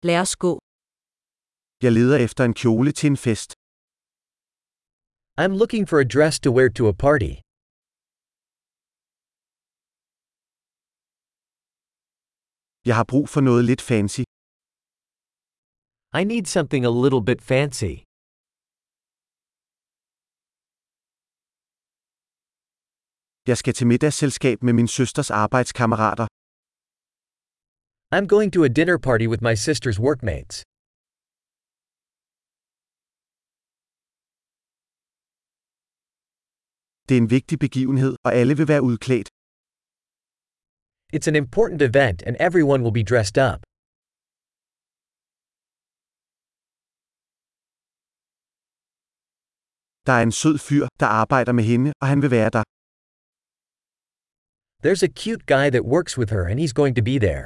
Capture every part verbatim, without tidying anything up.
Lad os gå. Jeg leder efter en kjole til en fest. I'm looking for a dress to wear to a party. Jeg har brug for noget lidt fancy. I need something a little bit fancy. Jeg skal til middagsselskab med min søsters arbejdskammerater. I'm going to a dinner party with my sister's workmates. Det er en vigtig begivenhed, og alle vil være udklædt. It's an important event and everyone will be dressed up. Der er en sød fyr, der arbejder med hende, og han vil være der. There's a cute guy that works with her and he's going to be there.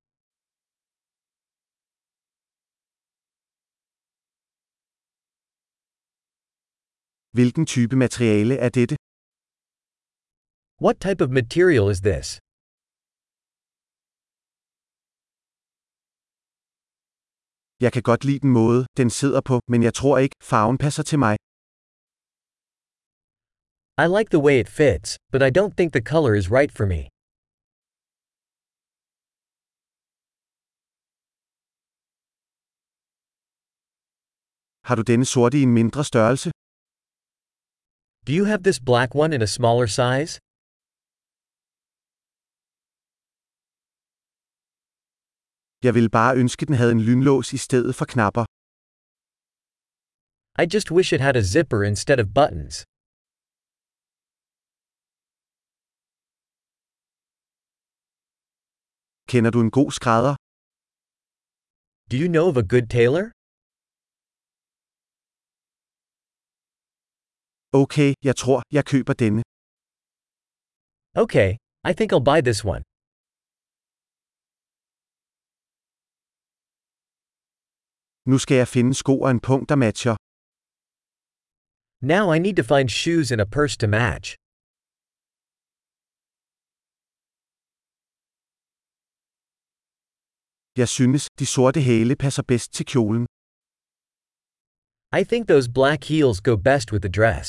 Hvilken type materiale er dette? What type of material is this? Jeg kan godt lide den måde, den sidder på, men jeg tror ikke, farven passer til mig. I like the way it fits, but I don't think the color is right for me. Har du denne sorte i en mindre størrelse? Do you have this black one in a smaller size? Jeg ville bare ønske, den havde en lynlås i stedet for knapper. I just wish it had a zipper instead of buttons. Kender du en god skrædder? Do you know of a good tailor? Okay, jeg tror, jeg køber denne. Okay, I think I'll buy this one. Nu skal jeg finde sko og en pung, der matcher. Now I need to find shoes and a purse to match. Jeg synes, de sorte hæle passer bedst til kjolen. I think those black heels go best with the dress.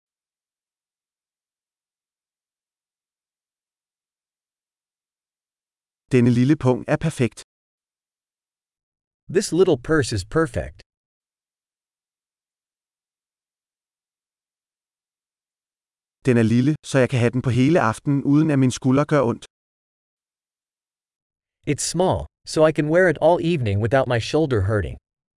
Denne lille pung er perfekt. This little purse is perfect. Den er lille, så jeg kan have den på hele aftenen, uden at min skulder gør ondt. It's small, so I can wear it all evening without my shoulder hurting.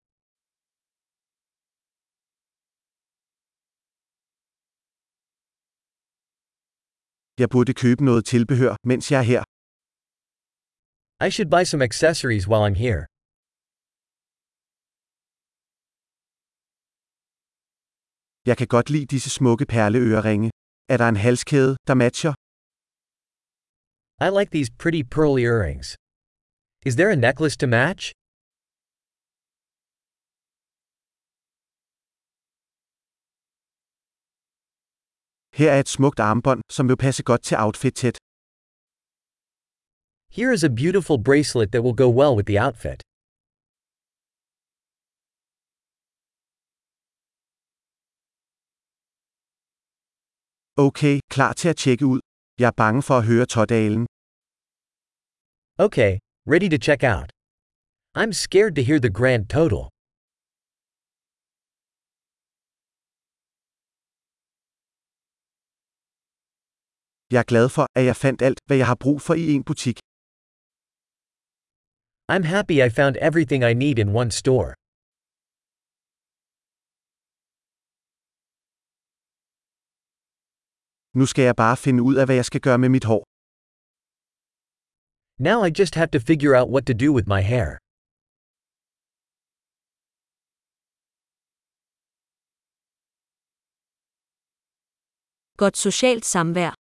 Jeg burde købe noget tilbehør, mens jeg er her. I should buy some accessories while I'm here. Jeg kan godt lide disse smukke perleøreringe. Er der en halskæde, der matcher? I like these pretty pearl earrings. Is there a necklace to match? Her er et smukt armbånd, som vil passe godt til outfitet. Here is a beautiful bracelet that will go well with the outfit. Okay, klar til at tjekke ud. Jeg er bange for at høre tådalen. Okay, ready to check out. I'm scared to hear the grand total. Jeg er glad for, at jeg fandt alt, hvad jeg har brug for i en butik. I'm happy I found everything I need in one store. Nu skal jeg bare finde ud af, hvad jeg skal gøre med mit hår. Now I just have to figure out what to do with my hair. Godt socialt samvær.